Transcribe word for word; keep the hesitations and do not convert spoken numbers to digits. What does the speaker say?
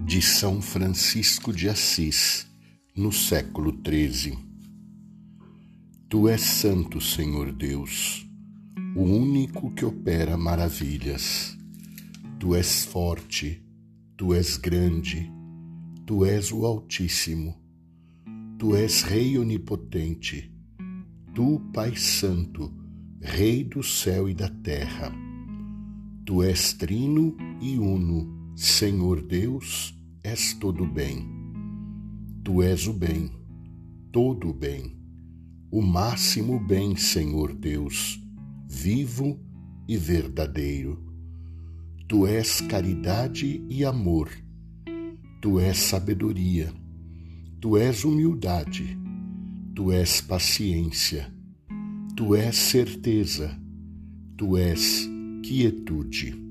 de São Francisco de Assis, no século treze. Tu és santo, Senhor Deus, o único que opera maravilhas. Tu és forte, tu és grande, tu és o Altíssimo. Tu és Rei onipotente, tu, Pai Santo, Rei do céu e da terra. Tu és trino e uno, Senhor Deus, és todo bem. Tu és o bem, todo o bem, o máximo bem, Senhor Deus, vivo e verdadeiro. Tu és caridade e amor, tu és sabedoria, tu és humildade, tu és paciência, tu és certeza, tu és quietude.